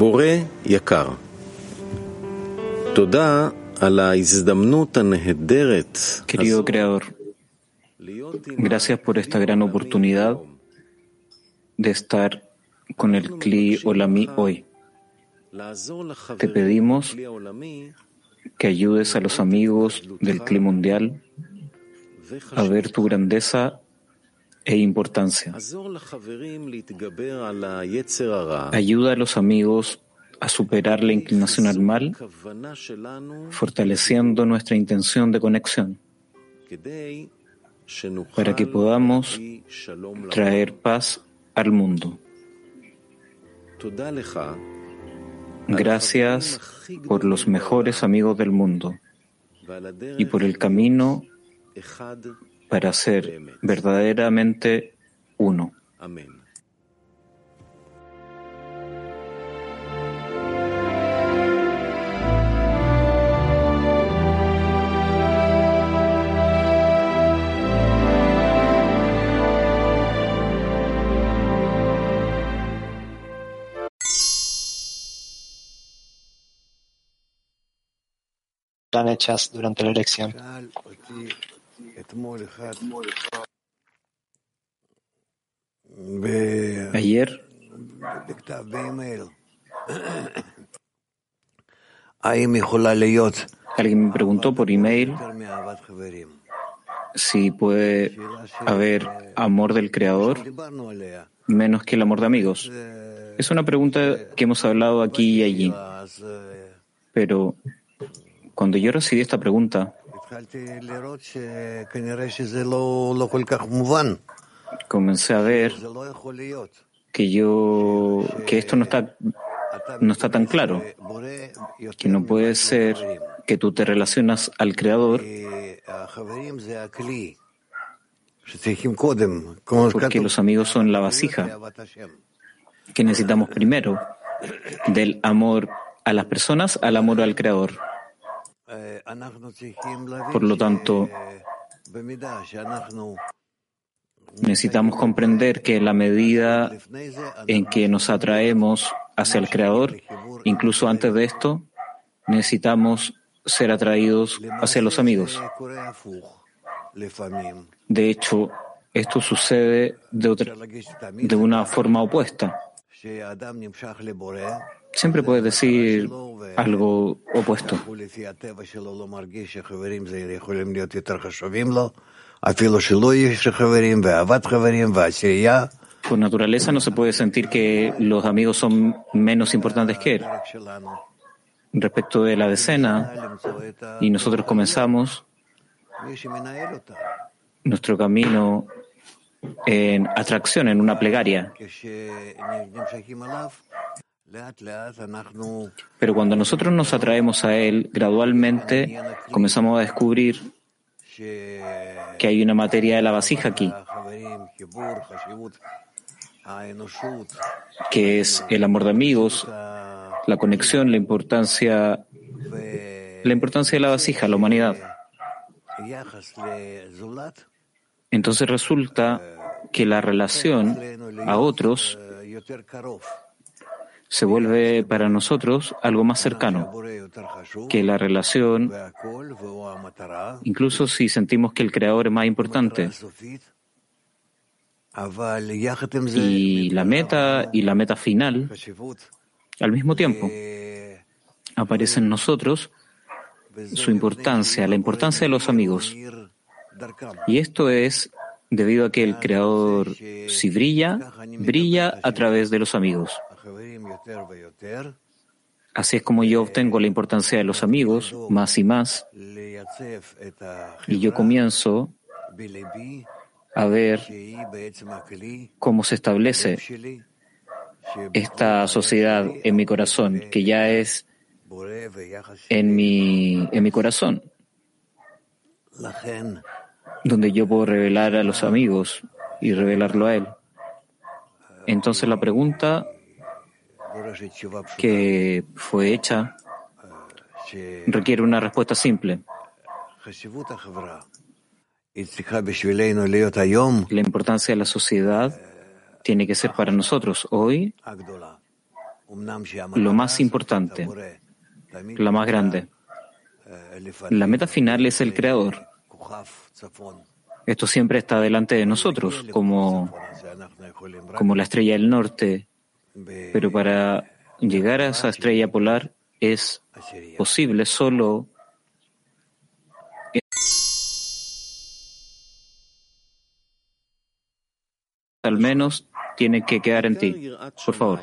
בורא יקר, תודה על ההזדמנות הנהדרת. Querido Creador, gracias por esta gran oportunidad de estar con el Kli Olami hoy. Te pedimos que ayudes a los amigos del Kli Mundial a ver tu grandeza e importancia. Ayuda a los amigos a superar la inclinación al mal, fortaleciendo nuestra intención de conexión, para que podamos traer paz al mundo. Gracias por los mejores amigos del mundo y por el camino para ser verdaderamente uno. Amén. Están hechas durante la elección. Ayer alguien me preguntó por email si puede haber amor del Creador menos que el amor de amigos. Es una pregunta que hemos hablado aquí y allí, pero cuando yo recibí esta pregunta, comencé a ver que esto no está tan claro, que no puede ser que tú te relacionas al Creador porque los amigos son la vasija que necesitamos primero, del amor a las personas al amor al Creador. Por lo tanto, necesitamos comprender que en la medida en que nos atraemos hacia el Creador, incluso antes de esto, necesitamos ser atraídos hacia los amigos. De hecho, esto sucede de una forma opuesta. Siempre puedes decir algo opuesto. Por naturaleza no se puede sentir que los amigos son menos importantes que él. Respecto de la decena, y nosotros comenzamos nuestro camino en atracción, en una plegaria. Pero cuando nosotros nos atraemos a él, gradualmente comenzamos a descubrir que hay una materia de la vasija aquí, que es el amor de amigos, la conexión, la importancia de la vasija, la humanidad. Entonces resulta que la relación a otros se vuelve para nosotros algo más cercano que la relación, incluso si sentimos que el Creador es más importante. Y la meta final, al mismo tiempo, aparece en nosotros su importancia, la importancia de los amigos. Y esto es debido a que el Creador, si brilla a través de los amigos. Así es como yo obtengo la importancia de los amigos más y más, y yo comienzo a ver cómo se establece esta sociedad en mi corazón, que ya es en mi corazón, donde yo puedo revelar a los amigos y revelarlo a él. Entonces la pregunta que fue hecha requiere una respuesta simple. La importancia de la sociedad tiene que ser para nosotros hoy lo más importante, la más grande. La meta final es el Creador. Esto siempre está delante de nosotros, como la estrella del norte, pero para llegar a esa estrella polar es posible solo al menos tiene que quedar en ti. Por favor.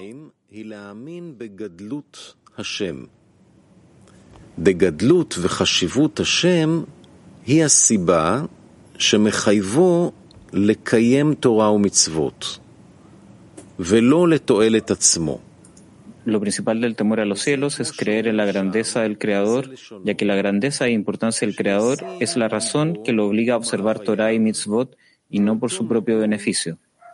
בגדלות וחשיבות השם היא הסיבה שמחייבו לקיים תורה ומצוות ולא לתועלת עצמו. Lo principal del temor a los cielos es creer en la grandeza del Creador, ya que la grandeza e importancia del Creador es la razón que lo obliga a observar Torah y mitzvot y no por su propio beneficio.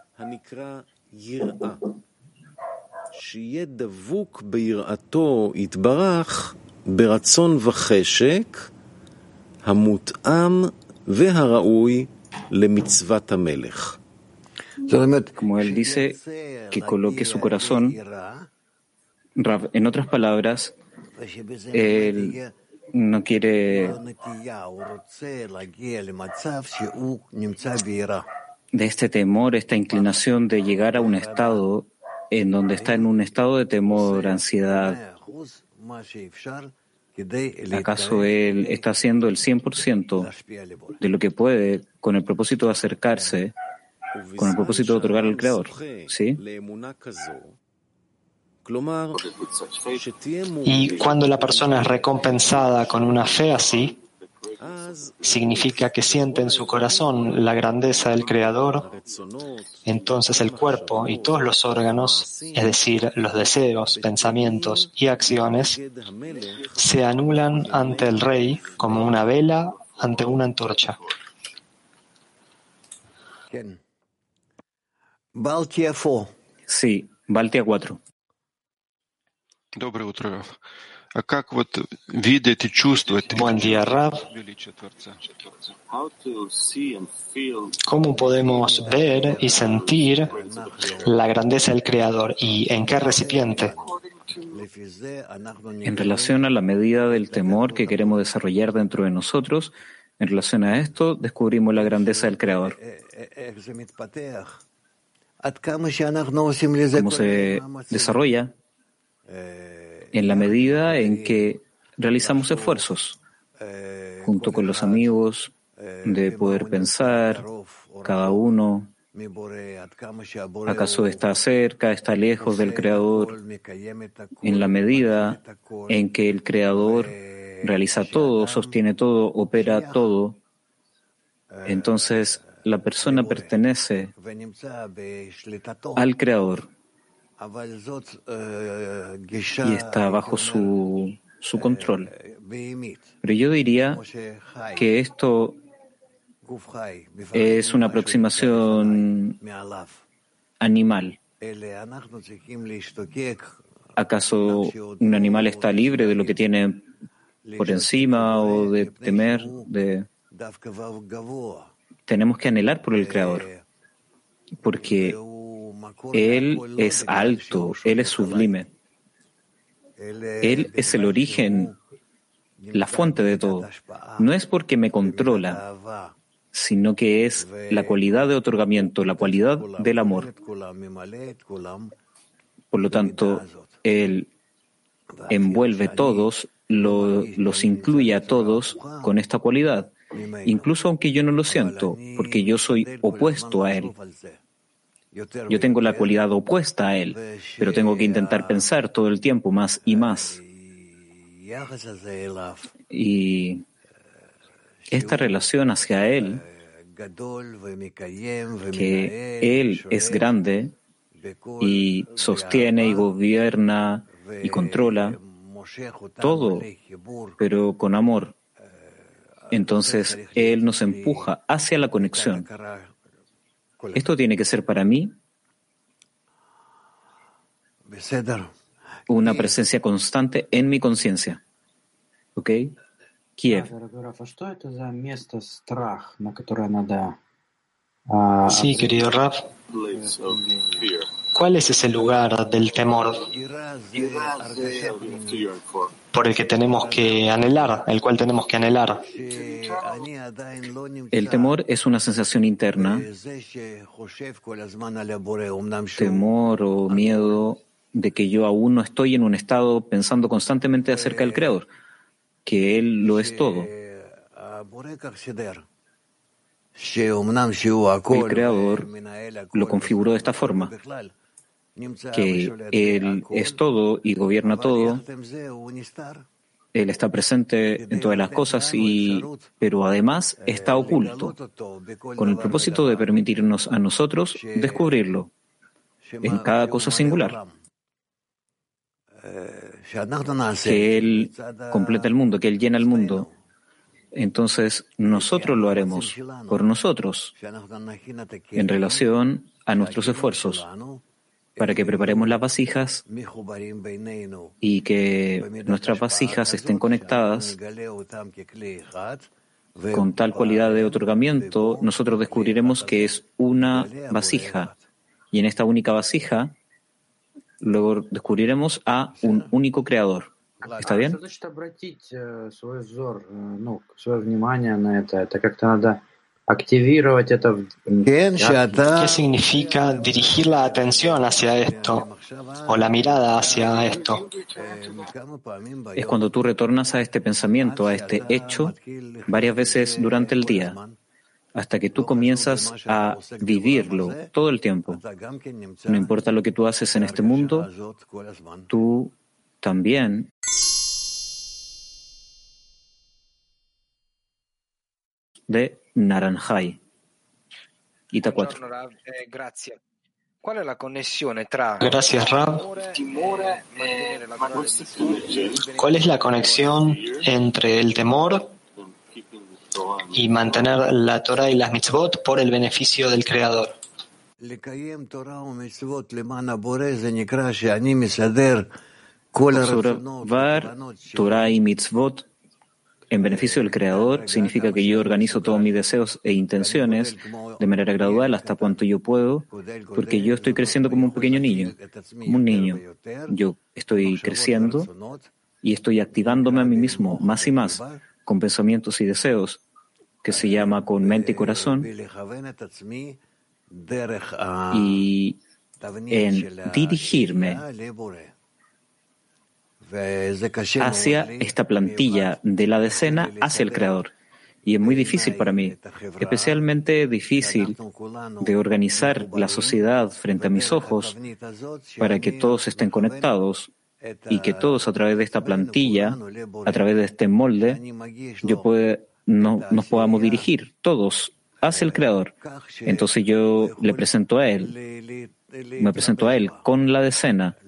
שיהיה דבוק ביראתו יתברך ברצון וחשק המותאם והראוי למצוות המלך. Como él dice, que coloque su corazón, Rav, en otras palabras, él no quiere de este temor, esta inclinación de llegar a un estado en donde está en un estado de temor, ansiedad. ¿Acaso él está haciendo el 100% de lo que puede con el propósito de acercarse, con el propósito de otorgar al Creador? ¿Sí? Y cuando la persona es recompensada con una fe así, significa que siente en su corazón la grandeza del Creador, entonces el cuerpo y todos los órganos, es decir, los deseos, pensamientos y acciones, se anulan ante el Rey como una vela ante una antorcha. Sí, Baltia 4. Доброе утро, Раф. А как вот видеть и чувствовать Buen día, Rav. величие Творца? ¿Cómo podemos ver y sentir la grandeza del Creador y en qué recipiente? En relación a la medida del temor que queremos desarrollar dentro de nosotros, en relación a esto, descubrimos la grandeza del Creador. ¿Cómo se desarrolla? En la medida en que realizamos esfuerzos junto con los amigos de poder pensar, cada uno, ¿acaso está cerca, está lejos del Creador? En la medida en que el Creador realiza todo, sostiene todo, opera todo, entonces la persona pertenece al Creador y está bajo su control. Pero yo diría que esto es una aproximación animal. ¿Acaso un animal está libre de lo que tiene por encima o de temer? Tenemos que anhelar por el Creador, porque Él es alto, Él es sublime. Él es el origen, la fuente de todo. No es porque me controla, sino que es la cualidad de otorgamiento, la cualidad del amor. Por lo tanto, Él envuelve todos, los incluye a todos con esta cualidad, incluso aunque yo no lo siento, porque yo soy opuesto a Él. Yo tengo la cualidad opuesta a Él, pero tengo que intentar pensar todo el tiempo más y más. Y esta relación hacia Él, que Él es grande y sostiene y gobierna y controla todo, pero con amor, entonces Él nos empuja hacia la conexión. Esto tiene que ser para mí una presencia constante en mi conciencia. ¿Ok? Kiev. Sí, querido Rav. ¿Cuál es ese lugar del temor por el que tenemos que anhelar, el cual tenemos que anhelar? El temor es una sensación interna, temor o miedo de que yo aún no estoy en un estado pensando constantemente acerca del Creador, que Él lo es todo. El Creador lo configuró de esta forma, que Él es todo y gobierna todo. Él está presente en todas las cosas, pero además está oculto, con el propósito de permitirnos a nosotros descubrirlo en cada cosa singular. Que Él completa el mundo, que Él llena el mundo. Entonces nosotros lo haremos por nosotros en relación a nuestros esfuerzos, para que preparemos las vasijas y que nuestras vasijas estén conectadas con tal cualidad de otorgamiento. Nosotros descubriremos que es una vasija, y en esta única vasija luego descubriremos a un único creador. ¿Está bien? ¿Qué significa dirigir la atención hacia esto o la mirada hacia esto? Es cuando tú retornas a este pensamiento, a este hecho, varias veces durante el día, hasta que tú comienzas a vivirlo todo el tiempo. No importa lo que tú haces en este mundo, tú también de Naranjai. Ita 4. Gracias, Rab. ¿Cuál es la conexión entre el temor y mantener la Torah y las mitzvot por el beneficio del Creador? Observar Torah y mitzvot en beneficio del Creador significa que yo organizo todos mis deseos e intenciones de manera gradual hasta cuanto yo puedo, porque yo estoy creciendo como un pequeño niño, como un niño. Yo estoy creciendo y estoy activándome a mí mismo más y más con pensamientos y deseos, que se llama con mente y corazón, y en dirigirme hacia esta plantilla de la decena hacia el Creador. Y es muy difícil para mí, especialmente difícil de organizar la sociedad frente a mis ojos para que todos estén conectados y que todos a través de esta plantilla, a través de este molde, nos podamos dirigir todos hacia el Creador. Entonces yo le presento a Él, me presento a Él con la decena,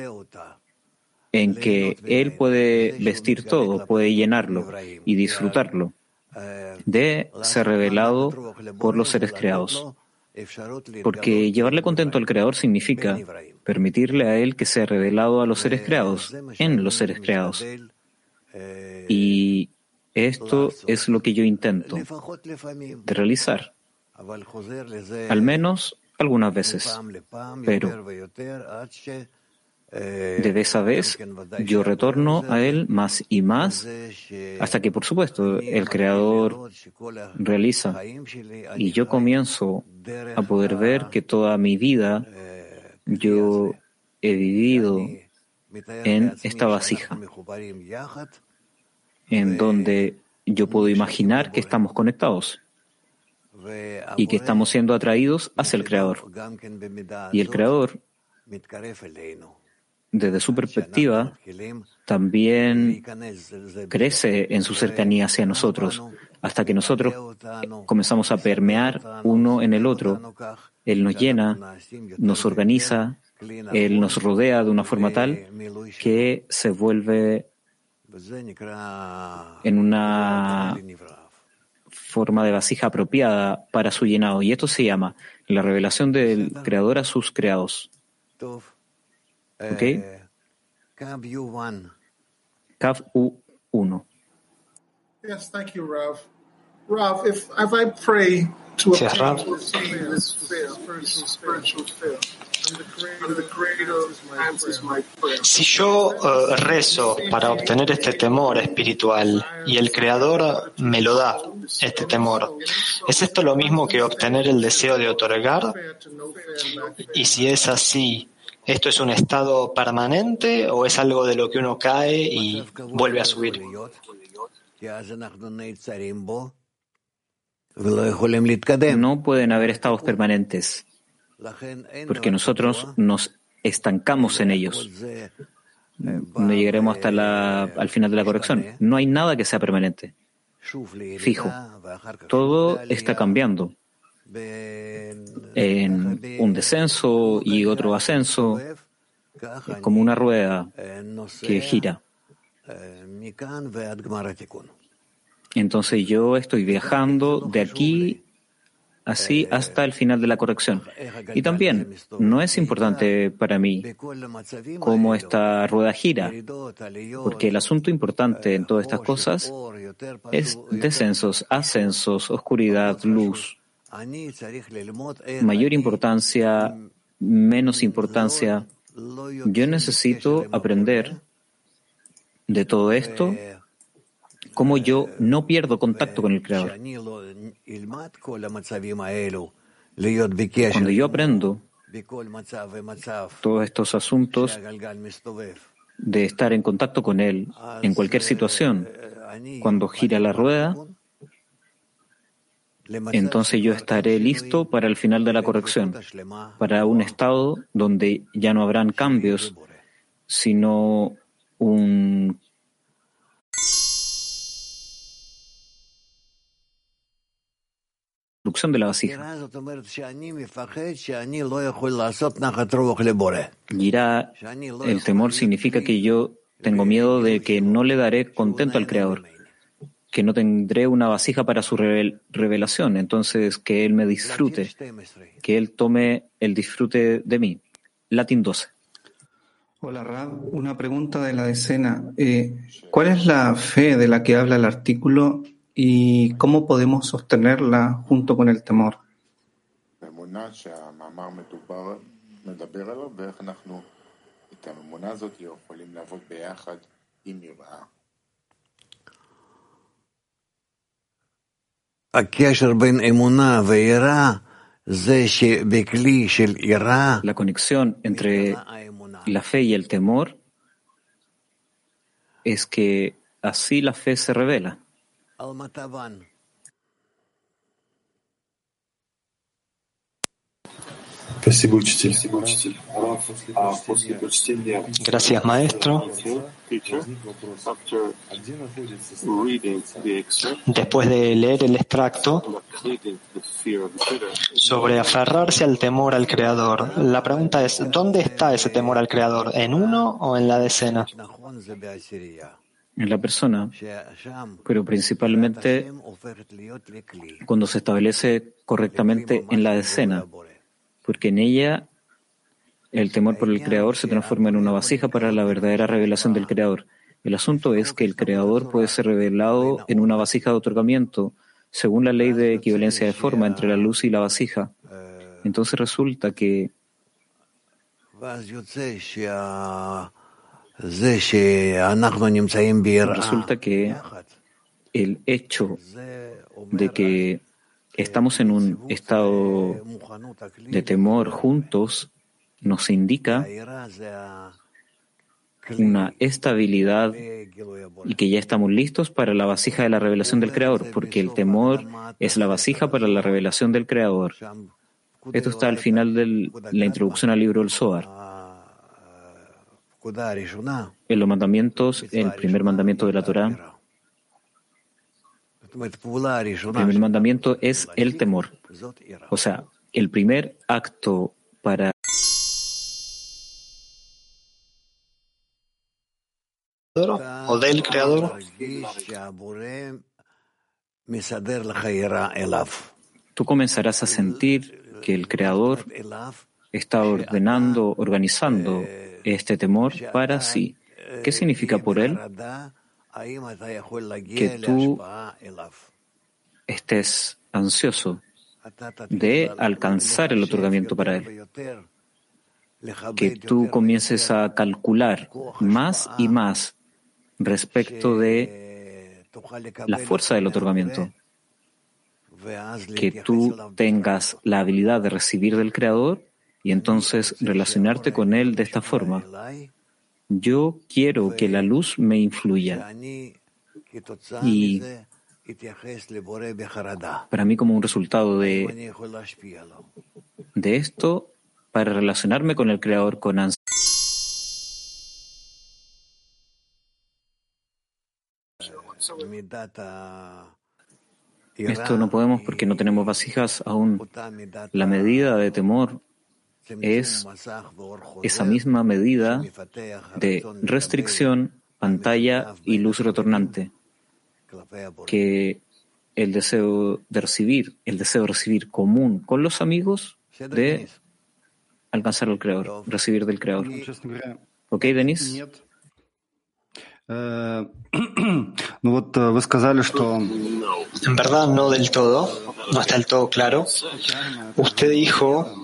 en que Él puede vestir todo, puede llenarlo y disfrutarlo de ser revelado por los seres creados. Porque llevarle contento al Creador significa permitirle a Él que sea revelado a los seres creados, en los seres creados. Y esto es lo que yo intento de realizar, al menos algunas veces, pero de vez a vez yo retorno a Él más y más, hasta que, por supuesto, el Creador realiza y yo comienzo a poder ver que toda mi vida yo he vivido en esta vasija, en donde yo puedo imaginar que estamos conectados y que estamos siendo atraídos hacia el Creador. Y el Creador, desde su perspectiva, también crece en su cercanía hacia nosotros, hasta que nosotros comenzamos a permear uno en el otro. Él nos llena, nos organiza, Él nos rodea de una forma tal que se vuelve en una forma de vasija apropiada para su llenado. Y esto se llama la revelación del Creador a sus creados. ¿Ok? Kav U1. Yes, thank you, Rav. Si es Rav, si yo rezo para obtener este temor espiritual y el Creador me lo da, este temor, ¿es esto lo mismo que obtener el deseo de otorgar? Y si es así, ¿esto es un estado permanente o es algo de lo que uno cae y vuelve a subir? No pueden haber estados permanentes, porque nosotros nos estancamos en ellos. No llegaremos hasta al final de la corrección. No hay nada que sea permanente, fijo. Todo está cambiando. En un descenso y otro ascenso, como una rueda que gira. Entonces yo estoy viajando de aquí así hasta el final de la corrección. Y también no es importante para mí cómo esta rueda gira, porque el asunto importante en todas estas cosas es descensos, ascensos, oscuridad, luz, mayor importancia, menos importancia. Yo necesito aprender de todo esto, cómo yo no pierdo contacto con el Creador. Cuando yo aprendo todos estos asuntos de estar en contacto con Él en cualquier situación, cuando gira la rueda, entonces yo estaré listo para el final de la corrección, para un estado donde ya no habrán cambios, sino un de la vasija. Girá, el temor significa que yo tengo miedo de que no le daré contento al Creador, que no tendré una vasija para su revelación, entonces que Él me disfrute, que Él tome el disfrute de mí. Latín 12. Hola Rab, una pregunta de la decena. ¿Cuál es la fe de la que habla el artículo y cómo podemos sostenerla junto con el temor? La conexión entre la fe y el temor es que así la fe se revela. Gracias, maestro. Después de leer el extracto sobre aferrarse al temor al Creador, la pregunta es, ¿dónde está ese temor al Creador? ¿En uno o en la decena? En la persona, pero principalmente cuando se establece correctamente en la decena, porque en ella el temor por el Creador se transforma en una vasija para la verdadera revelación del Creador. El asunto es que el Creador puede ser revelado en una vasija de otorgamiento, según la ley de equivalencia de forma entre la luz y la vasija. Entonces resulta que el hecho de que estamos en un estado de temor juntos nos indica una estabilidad y que ya estamos listos para la vasija de la revelación del Creador, porque el temor es la vasija para la revelación del Creador. Esto está al final de la introducción al libro del Zohar. En los mandamientos, el primer mandamiento de la Torá, el primer mandamiento es el temor. O sea, el primer acto para o del Creador. Tú comenzarás a sentir que el Creador está ordenando, organizando este temor para sí. ¿Qué significa por él? Que tú estés ansioso de alcanzar el otorgamiento para él, que tú comiences a calcular más y más respecto de la fuerza del otorgamiento, que tú tengas la habilidad de recibir del Creador y entonces relacionarte con Él de esta forma. Yo quiero que la luz me influya y para mí como un resultado de esto, para relacionarme con el Creador con ansiedad. Esto no podemos porque no tenemos vasijas aún. La medida de temor es esa misma medida de restricción, pantalla y luz retornante, que el deseo de recibir común con los amigos de alcanzar al Creador, recibir del Creador. ¿Ok, Denis? En verdad, no del todo, no está del todo claro. Usted dijo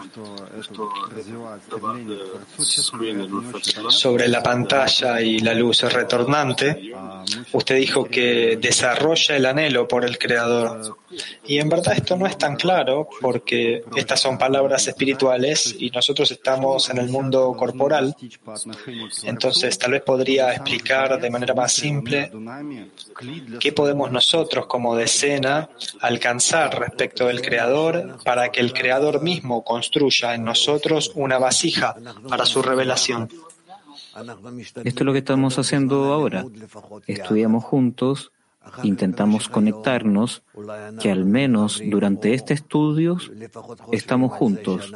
sobre la pantalla y la luz retornante, usted dijo que desarrolla el anhelo por el Creador. Y en verdad esto no es tan claro porque estas son palabras espirituales y nosotros estamos en el mundo corporal. Entonces, tal vez podría explicar de manera más simple qué podemos nosotros como decena alcanzar respecto del Creador para que el Creador mismo construya en nosotros una vasija para su revelación. Esto es lo que estamos haciendo ahora. Estudiamos juntos, intentamos conectarnos, que al menos durante este estudio estamos juntos.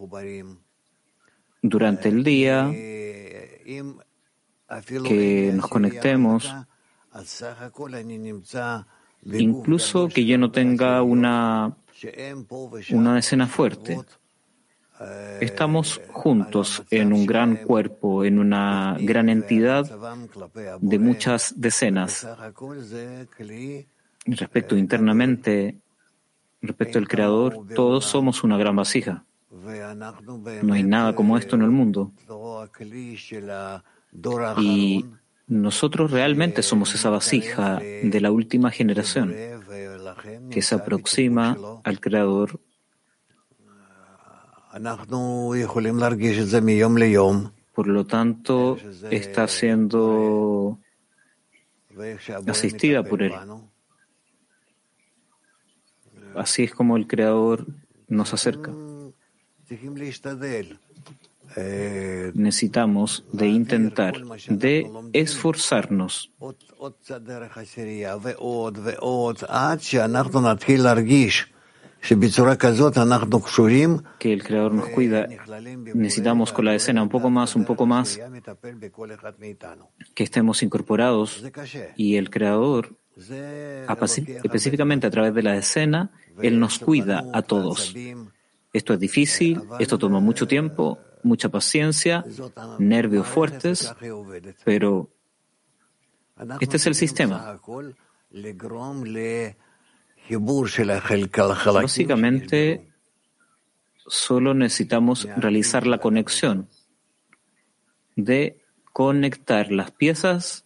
Durante el día, que nos conectemos, incluso que yo no tenga una escena fuerte. Estamos juntos en un gran cuerpo, en una gran entidad de muchas decenas. Respecto internamente, respecto al Creador, todos somos una gran vasija. No hay nada como esto en el mundo. Y nosotros realmente somos esa vasija de la última generación que se aproxima al Creador. Por lo tanto, está siendo asistida por Él. Así es como el Creador nos acerca. Necesitamos de intentar, de esforzarnos. Que el Creador nos cuida. Necesitamos con la escena un poco más, que estemos incorporados y el Creador, específicamente a través de la escena, Él nos cuida a todos. Esto es difícil, esto toma mucho tiempo, mucha paciencia, nervios fuertes, pero este es el sistema. Básicamente, solo necesitamos realizar la conexión de conectar las piezas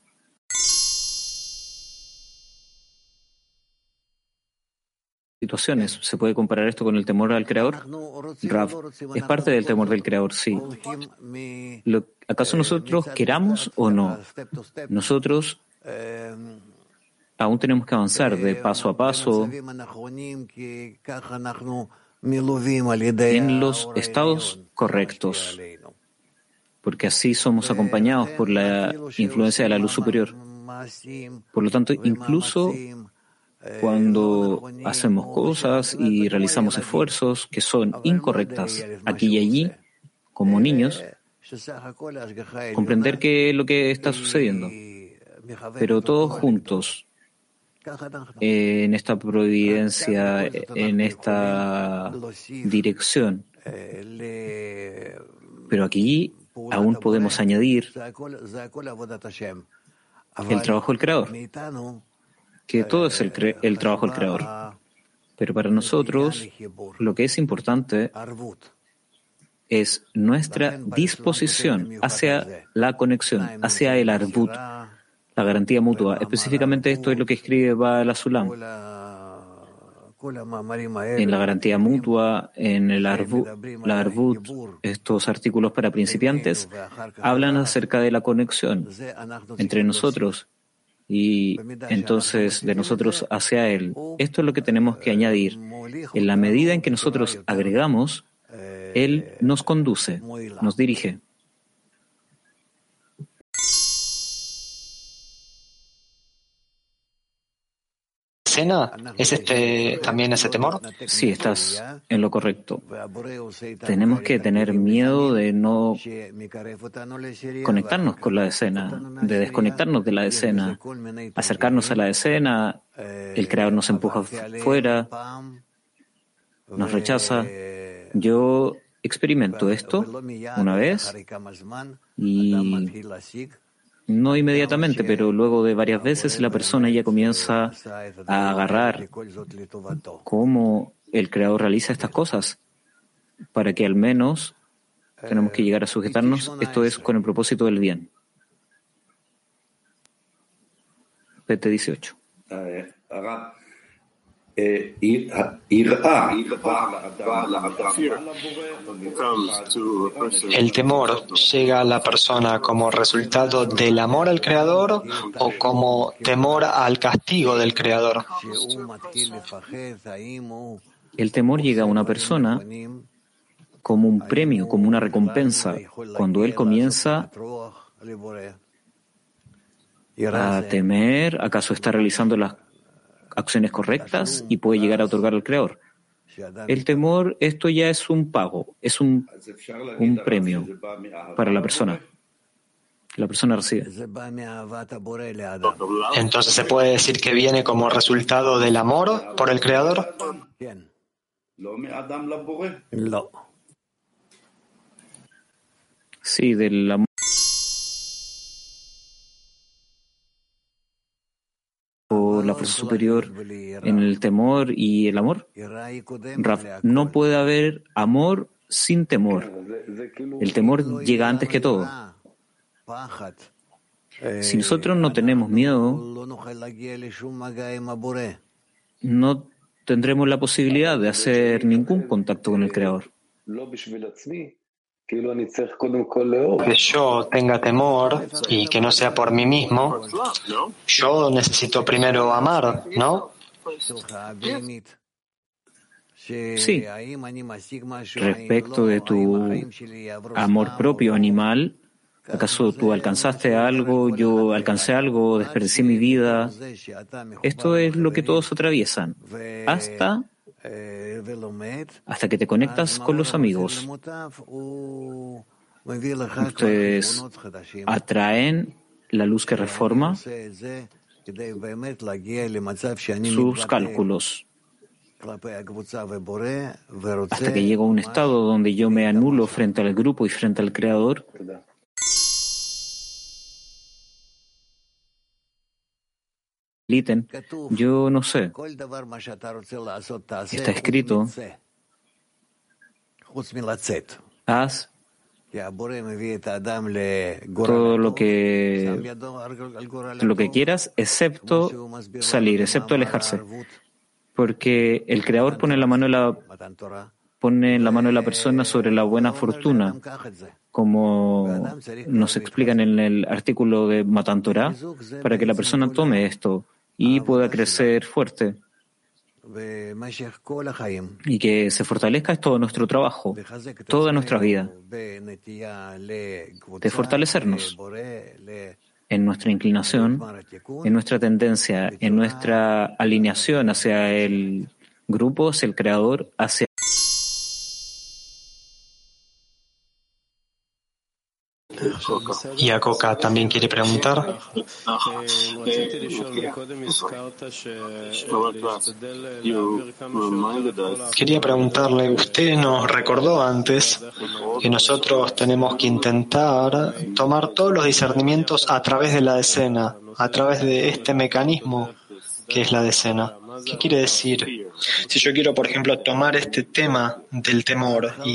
situaciones. ¿Se puede comparar esto con el temor al Creador? Rav, es parte del temor del Creador, sí. ¿Acaso nosotros queramos o no? Nosotros aún tenemos que avanzar de paso a paso en los estados correctos, porque así somos acompañados por la influencia de la luz superior. Por lo tanto, incluso cuando hacemos cosas y realizamos esfuerzos que son incorrectas aquí y allí, como niños, comprender qué es lo que está sucediendo, pero todos juntos, en esta providencia, en esta dirección. Pero aquí aún podemos añadir el trabajo del Creador, que todo es el trabajo del Creador. Pero para nosotros, lo que es importante es nuestra disposición hacia la conexión, hacia el Arvut, la garantía mutua. Específicamente esto es lo que escribe Baal HaSulam. En la garantía mutua, en el la Arvut, estos artículos para principiantes hablan acerca de la conexión entre nosotros y entonces de nosotros hacia Él. Esto es lo que tenemos que añadir. En la medida en que nosotros agregamos, Él nos conduce, nos dirige. ¿Escena? ¿Es también ese temor? Sí, estás en lo correcto. Tenemos que tener miedo de no conectarnos con la escena, de desconectarnos de la escena, acercarnos a la escena, el Creador nos empuja fuera, nos rechaza. Yo experimento esto una vez y no inmediatamente, pero luego de varias veces la persona ya comienza a agarrar cómo el Creador realiza estas cosas, para que al menos tenemos que llegar a sujetarnos, esto es con el propósito del bien. PT 18. ¿El temor llega a la persona como resultado del amor al Creador o como temor al castigo del Creador? El temor llega a una persona como un premio, como una recompensa, cuando él comienza a temer, ¿acaso está realizando las acciones correctas y puede llegar a otorgar al Creador? El temor, esto ya es un pago, es un premio para la persona. La persona recibe. Entonces, ¿se puede decir que viene como resultado del amor por el Creador? Sí, del amor. La fuerza superior en el temor y el amor. No puede haber amor sin temor. El temor llega antes que todo. Si nosotros no tenemos miedo, no tendremos la posibilidad de hacer ningún contacto con el Creador. Que yo tenga temor y que no sea por mí mismo, yo necesito primero amar, ¿no? Sí. Respecto de tu amor propio animal, ¿acaso tú alcanzaste algo, yo alcancé algo, desperdicié mi vida? Esto es lo que todos atraviesan, hasta que te conectas con los amigos. Ustedes atraen la luz que reforma sus cálculos, hasta que llega un estado donde yo me anulo frente al grupo y frente al Creador. Yo no sé. Está escrito: haz todo lo que quieras, excepto salir, excepto alejarse. Porque el Creador pone en la mano de la persona sobre la buena fortuna, como nos explican en el artículo de Matan Torah, para que la persona tome esto y pueda crecer fuerte y que se fortalezca. Es todo nuestro trabajo, toda nuestra vida, de fortalecernos en nuestra inclinación, en nuestra tendencia, en nuestra alineación hacia el grupo, hacia el Creador, hacia Y Akoka también quiere preguntar. Quería preguntarle, usted nos recordó antes que nosotros tenemos que intentar tomar todos los discernimientos a través de la escena, a través de este mecanismo ¿Qué es la decena? ¿Qué quiere decir? Si yo quiero, por ejemplo, tomar este tema del temor y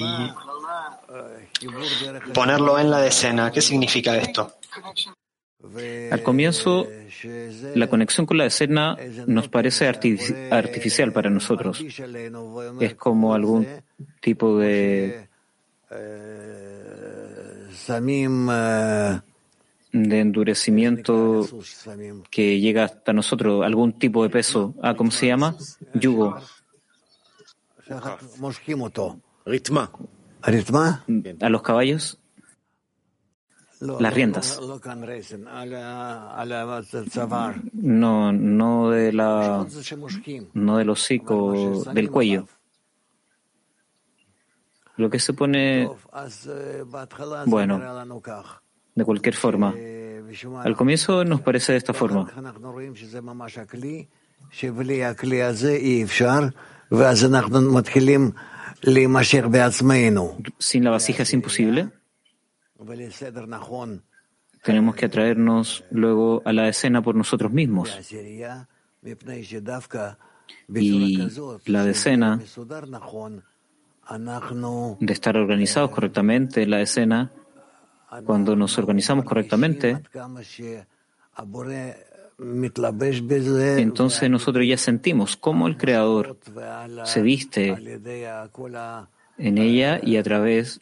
ponerlo en la decena, ¿qué significa esto? Al comienzo, la conexión con la decena nos parece artificial para nosotros. Es como algún tipo de endurecimiento que llega hasta nosotros, algún tipo de peso. ¿Cómo se llama? Yugo. A los caballos, las riendas. No del hocico, del cuello. Lo que se pone, bueno, de cualquier forma. Al comienzo nos parece de esta forma. Sin la vasija es imposible. Tenemos que atraernos luego a la decena por nosotros mismos. Y la decena, de estar organizados correctamente, la decena, cuando nos organizamos correctamente, entonces nosotros ya sentimos cómo el Creador se viste en ella y a través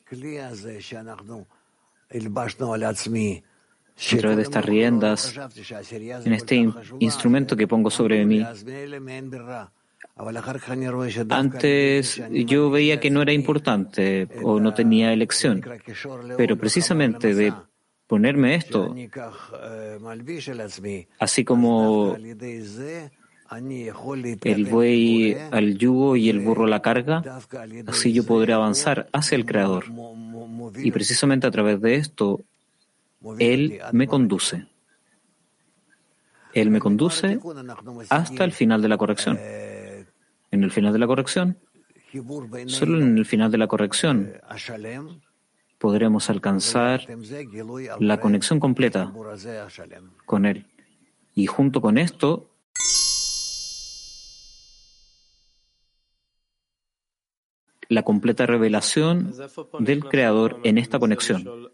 de estas riendas, en este instrumento que pongo sobre mí. Antes yo veía que no era importante o no tenía elección, pero precisamente de ponerme esto, así como el buey al yugo y el burro a la carga, así yo podré avanzar hacia el Creador. Y precisamente a través de esto, Él me conduce. Él me conduce hasta el final de la corrección. En el final de la corrección, solo en el final de la corrección, podremos alcanzar la conexión completa con Él. Y junto con esto, la completa revelación del Creador en esta conexión.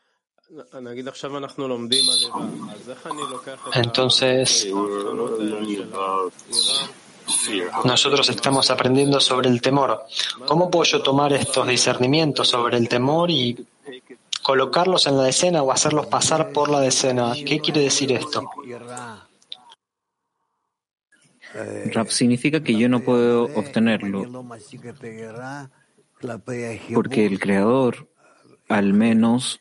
Entonces, nosotros estamos aprendiendo sobre el temor. ¿Cómo puedo yo tomar estos discernimientos sobre el temor y colocarlos en la decena o hacerlos pasar por la decena? ¿Qué quiere decir esto? Rab, significa que yo no puedo obtenerlo, porque el Creador, al menos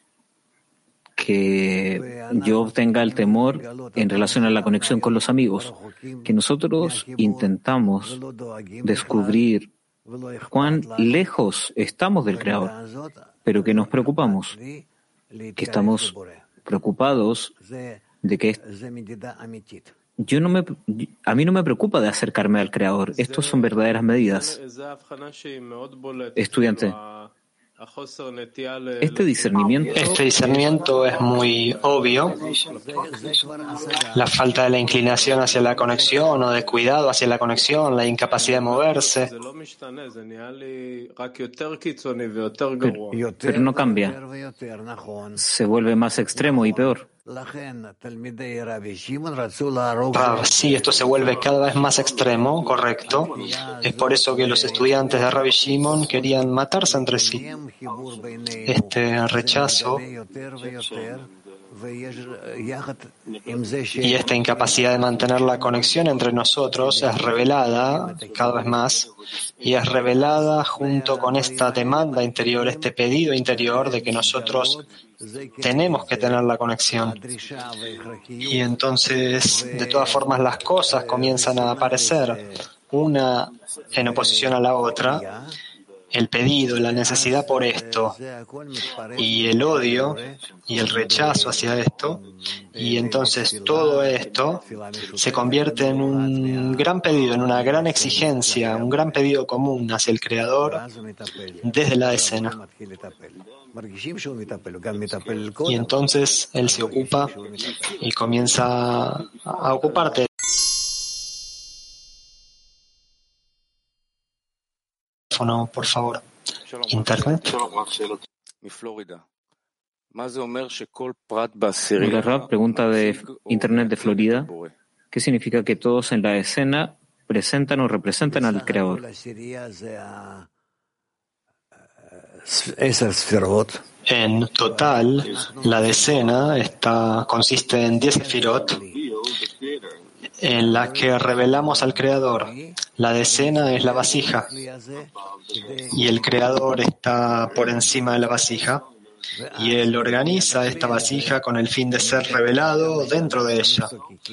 que yo obtenga el temor en relación a la conexión con los amigos, que nosotros intentamos descubrir cuán lejos estamos del Creador, pero que nos preocupamos, que estamos preocupados de que a mí no me preocupa de acercarme al Creador. Estos son verdaderas medidas. Estudiante, este discernimiento es muy obvio. La falta de la inclinación hacia la conexión o de cuidado hacia la conexión, la incapacidad de moverse. Pero no cambia. Se vuelve más extremo y peor. Sí, esto se vuelve cada vez más extremo, correcto. Es por eso que los estudiantes de Rabbi Shimon querían matarse entre sí. Este rechazo y esta incapacidad de mantener la conexión entre nosotros es revelada cada vez más y es revelada junto con esta demanda interior, este pedido interior de que nosotros tenemos que tener la conexión. Y entonces, de todas formas, las cosas comienzan a aparecer una en oposición a la otra. El pedido, la necesidad por esto y el odio y el rechazo hacia esto, y entonces todo esto se convierte en un gran pedido, en una gran exigencia, un gran pedido común hacia el Creador desde la escena. Y entonces Él se ocupa y comienza a ocuparte teléfono, por favor. Internet. Hola, Rav, pregunta de Internet de Florida. ¿Qué significa que todos en la escena presentan o representan al Creador? En total, la decena consiste en 10 sefirot en la que revelamos al Creador. La decena es la vasija y el Creador está por encima de la vasija y Él organiza esta vasija con el fin de ser revelado dentro de ella.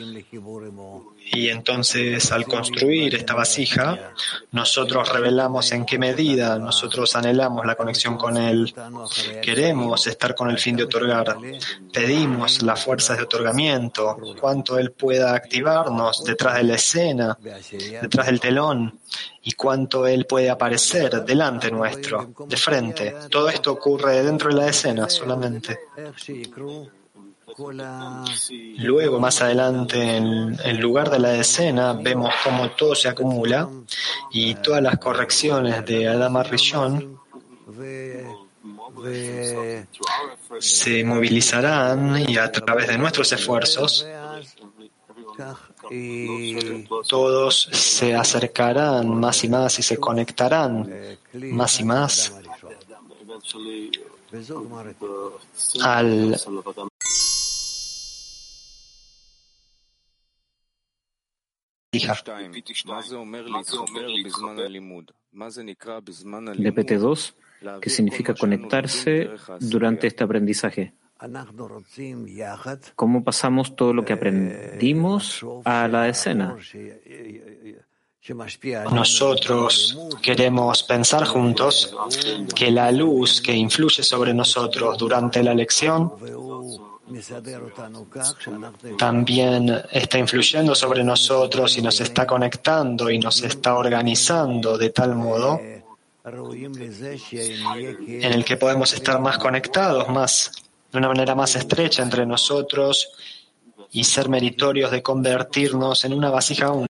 Y entonces, al construir esta vasija, nosotros revelamos en qué medida nosotros anhelamos la conexión con Él. Queremos estar con el fin de otorgar. Pedimos las fuerzas de otorgamiento, cuánto Él pueda activarnos detrás de la escena, detrás del telón, y cuánto Él puede aparecer delante nuestro, de frente. Todo esto ocurre dentro de la escena solamente. Luego, más adelante, en lugar de la escena, vemos cómo todo se acumula y todas las correcciones de Adam Rishon se movilizarán y a través de nuestros esfuerzos todos se acercarán más y más y se conectarán más y más al DPT2, ¿qué significa conectarse durante este aprendizaje? ¿Cómo pasamos todo lo que aprendimos a la escena? Nosotros queremos pensar juntos que la luz que influye sobre nosotros durante la lección también está influyendo sobre nosotros y nos está conectando y nos está organizando de tal modo en el que podemos estar más conectados, de una manera más estrecha entre nosotros y ser meritorios de convertirnos en una vasija única.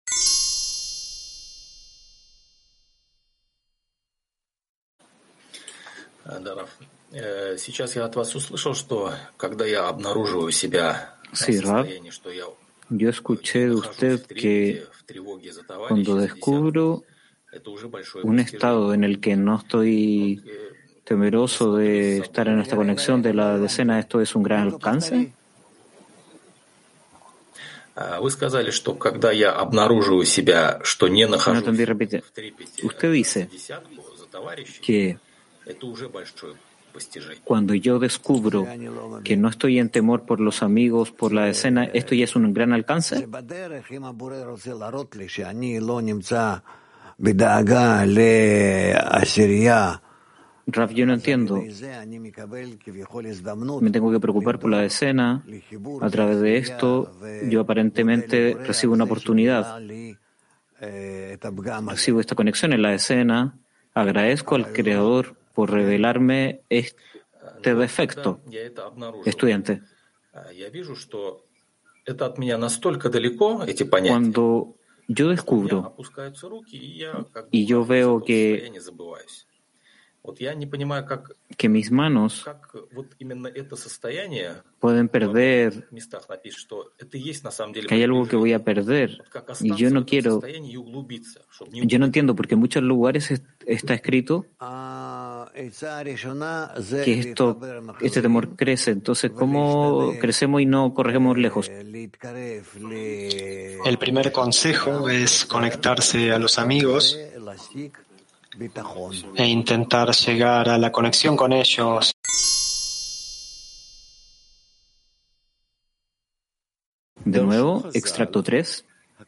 Sí, Rav, yo escuché de usted que cuando descubro un estado en el que no estoy temeroso de estar en esta conexión de la decena, ¿esto es un gran alcance? No entendí, repite. Usted dice que cuando yo descubro que no estoy en temor por los amigos, por la decena, ¿esto ya es un gran alcance? Rav, yo no entiendo. Me tengo que preocupar por la decena. A través de esto, yo aparentemente recibo una oportunidad. Recibo esta conexión en la decena. Agradezco al Creador por revelarme este defecto. Estudiante. Cuando yo descubro y yo veo que mis manos pueden perder, que hay algo que voy a perder, y yo no entiendo porque en muchos lugares está escrito que este temor crece. Entonces, ¿cómo crecemos y no corremos lejos? El primer consejo es conectarse a los amigos e intentar llegar a la conexión con ellos. De nuevo, extracto 3.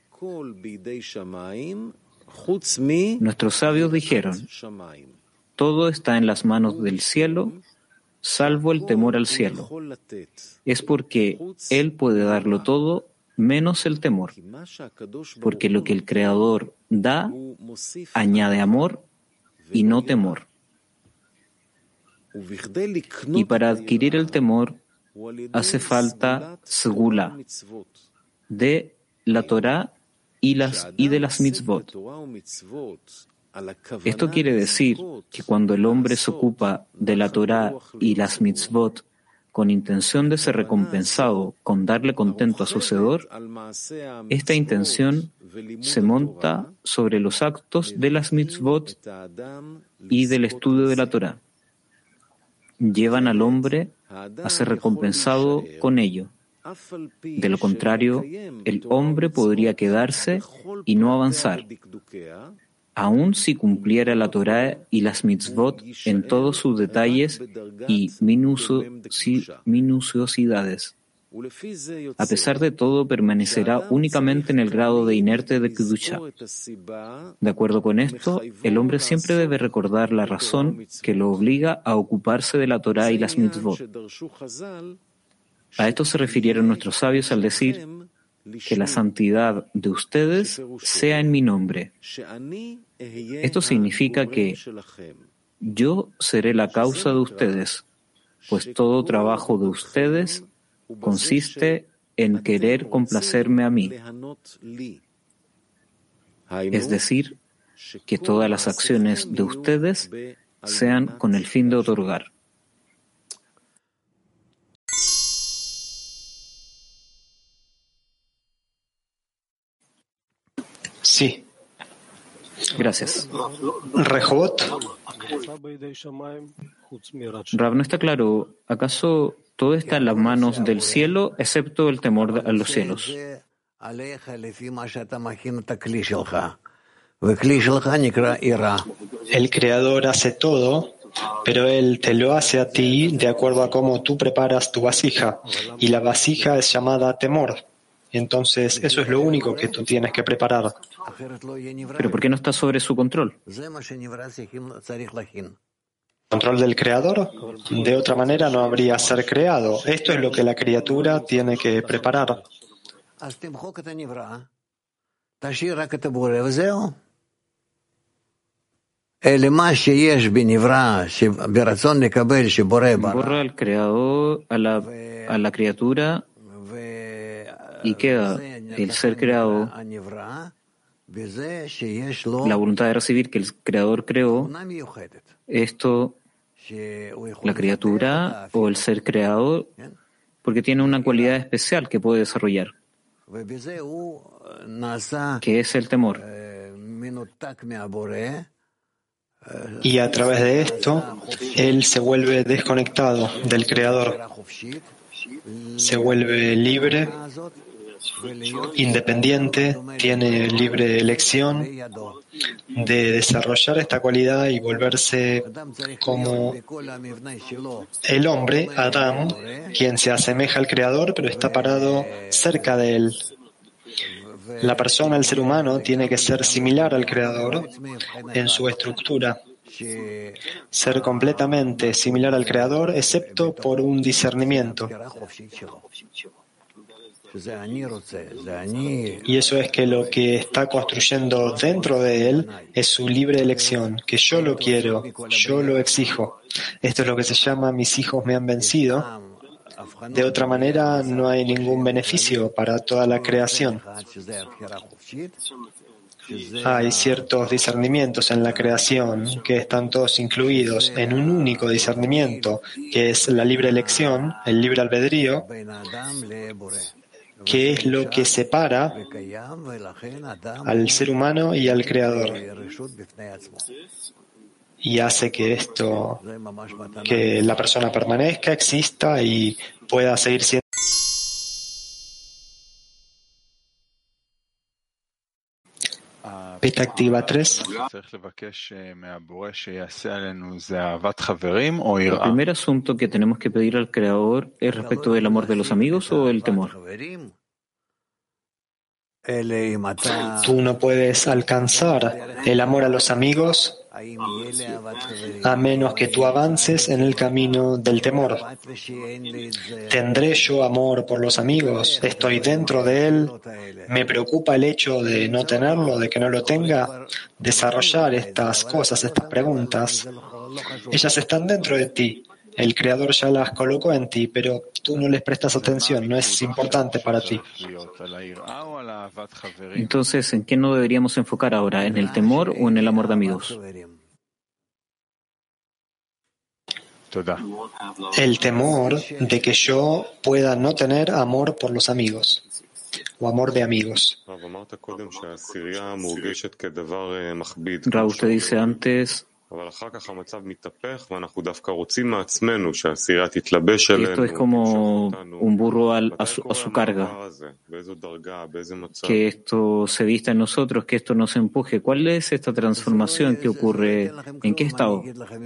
Nuestros sabios dijeron: todo está en las manos del cielo, salvo el temor al cielo. Es porque Él puede darlo todo, menos el temor. Porque lo que el Creador da, añade amor y no temor. Y para adquirir el temor, hace falta segula de la Torá y de las mitzvot. Esto quiere decir que cuando el hombre se ocupa de la Torá y las mitzvot con intención de ser recompensado con darle contento a su Hacedor, esta intención se monta sobre los actos de las mitzvot y del estudio de la Torá. Llevan al hombre a ser recompensado con ello. De lo contrario, el hombre podría quedarse y no avanzar, aun si cumpliera la Torá y las mitzvot en todos sus detalles y minuciosidades. A pesar de todo, permanecerá únicamente en el grado de inerte de Kedusha. De acuerdo con esto, el hombre siempre debe recordar la razón que lo obliga a ocuparse de la Torá y las mitzvot. A esto se refirieron nuestros sabios al decir que la santidad de ustedes sea en mi nombre. Esto significa que yo seré la causa de ustedes, pues todo trabajo de ustedes consiste en querer complacerme a mí. Es decir, que todas las acciones de ustedes sean con el fin de otorgar. Sí. Gracias. Rehobot. Rav, no está claro. ¿Acaso todo está en las manos del cielo, excepto el temor a los cielos? El Creador hace todo, pero Él te lo hace a ti de acuerdo a cómo tú preparas tu vasija. Y la vasija es llamada temor. Entonces, eso es lo único que tú tienes que preparar. ¿Pero por qué no está sobre su control? ¿Control del Creador? De otra manera no habría ser creado. Esto es lo que la criatura tiene que preparar. Borra al creador, a la criatura, y queda el ser creado, la voluntad de recibir que el creador creó. Esto, la criatura o el ser creado, porque tiene una cualidad especial que puede desarrollar, que es el temor. Y a través de esto, él se vuelve desconectado del Creador, se vuelve libre, independiente, tiene libre elección de desarrollar esta cualidad y volverse como el hombre, Adán, quien se asemeja al Creador, pero está parado cerca de él. La persona, el ser humano, tiene que ser similar al Creador en su estructura, ser completamente similar al Creador, excepto por un discernimiento. Y eso es que lo que está construyendo dentro de él es su libre elección, que yo lo quiero, yo lo exijo. Esto es lo que se llama mis hijos me han vencido. De otra manera, no hay ningún beneficio para toda la creación. Hay ciertos discernimientos en la creación que están todos incluidos en un único discernimiento, que es la libre elección, el libre albedrío, que es lo que separa al ser humano y al Creador. Y hace que que la persona permanezca, exista y pueda seguir siendo. Peta activa 3. El primer asunto que tenemos que pedir al Creador es respecto del amor de los amigos o el temor. Tú no puedes alcanzar el amor a los amigos a menos que tú avances en el camino del temor. ¿Tendré yo amor por los amigos? ¿Estoy dentro de él? ¿Me preocupa el hecho de no tenerlo, de que no lo tenga? Desarrollar estas cosas, estas preguntas, ellas están dentro de ti. El Creador ya las colocó en ti, pero tú no les prestas atención, no es importante para ti. Entonces, ¿en qué nos deberíamos enfocar ahora? ¿En el temor o en el amor de amigos? El temor de que yo pueda no tener amor por los amigos o amor de amigos. Raúl, usted dice antes que esto es como un burro a su carga, que esto se vista en nosotros, que esto nos empuje. ¿Cuál es esta transformación que ocurre? ¿En qué estado?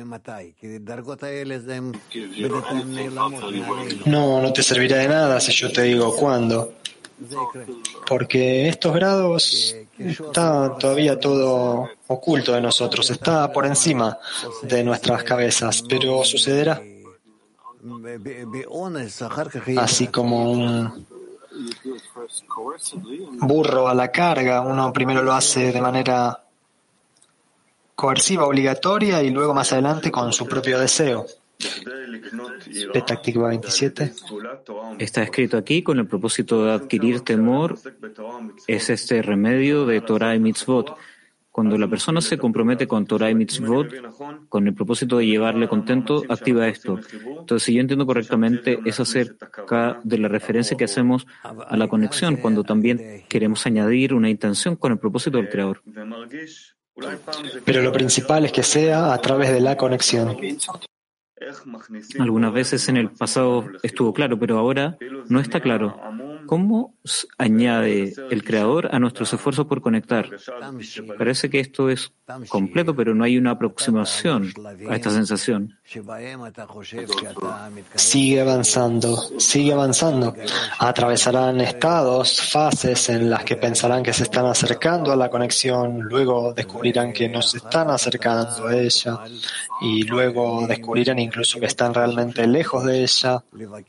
No te servirá de nada si yo te digo cuándo. Porque estos grados está todavía todo oculto de nosotros, está por encima de nuestras cabezas, pero sucederá. Así como un burro a la carga, uno primero lo hace de manera coerciva, obligatoria, y luego más adelante con su propio deseo. Petah Tikva 27. Está escrito aquí, con el propósito de adquirir temor, es este remedio de Torah y Mitzvot. Cuando la persona se compromete con Torah y Mitzvot, con el propósito de llevarle contento, activa esto. Entonces, si yo entiendo correctamente, es acerca de la referencia que hacemos a la conexión, cuando también queremos añadir una intención con el propósito del Creador. Pero lo principal es que sea a través de la conexión. Algunas veces en el pasado estuvo claro, pero ahora no está claro. ¿Cómo añade el Creador a nuestros esfuerzos por conectar? Parece que esto es completo, pero no hay una aproximación a esta sensación. Sigue avanzando. Atravesarán estados, fases en las que pensarán que se están acercando a la conexión, luego descubrirán que no se están acercando a ella, y luego descubrirán incluso que están realmente lejos de ella.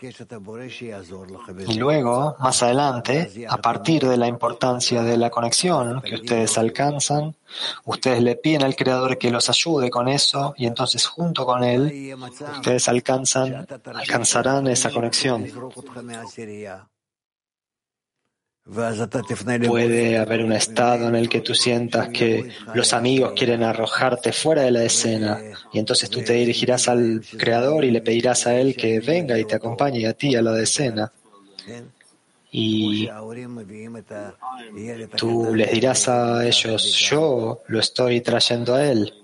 Y luego, más adelante, a partir de la importancia de la conexión que ustedes alcanzan, ustedes le piden al Creador que los ayude con eso, y entonces junto con Él, ustedes alcanzarán esa conexión. Puede haber un estado en el que tú sientas que los amigos quieren arrojarte fuera de la escena, y entonces tú te dirigirás al Creador y le pedirás a Él que venga y te acompañe a ti a la escena. Y tú les dirás a ellos, yo lo estoy trayendo a Él.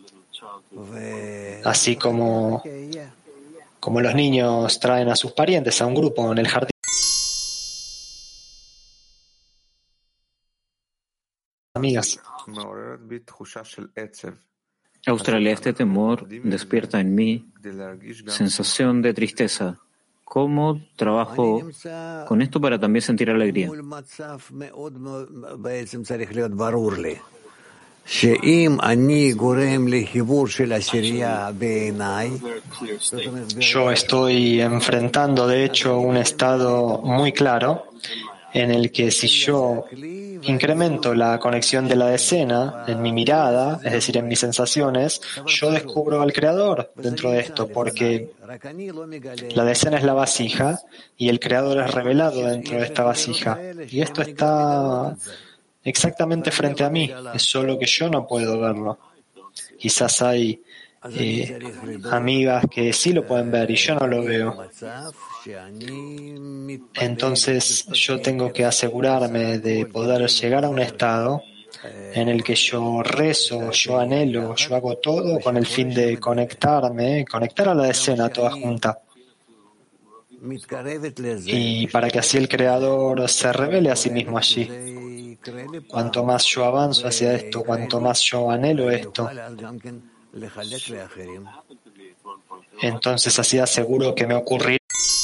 Así como los niños traen a sus parientes a un grupo en el jardín. Amigas. Australia, este temor despierta en mí sensación de tristeza. ¿Cómo trabajo con esto para también sentir alegría? Yo estoy enfrentando, de hecho, un estado muy claro en el que si yo incremento la conexión de la decena en mi mirada, es decir, en mis sensaciones, yo descubro al Creador dentro de esto, porque la decena es la vasija y el Creador es revelado dentro de esta vasija. Y esto está exactamente frente a mí, es solo que yo no puedo verlo. Quizás hay amigas que sí lo pueden ver y yo no lo veo. Entonces yo tengo que asegurarme de poder llegar a un estado en el que yo rezo, yo anhelo, yo hago todo con el fin de conectar a la decena toda junta. Y para que así el Creador se revele a sí mismo allí. Cuanto más yo avanzo hacia esto, cuanto más yo anhelo esto, entonces así aseguro que me ocurrirá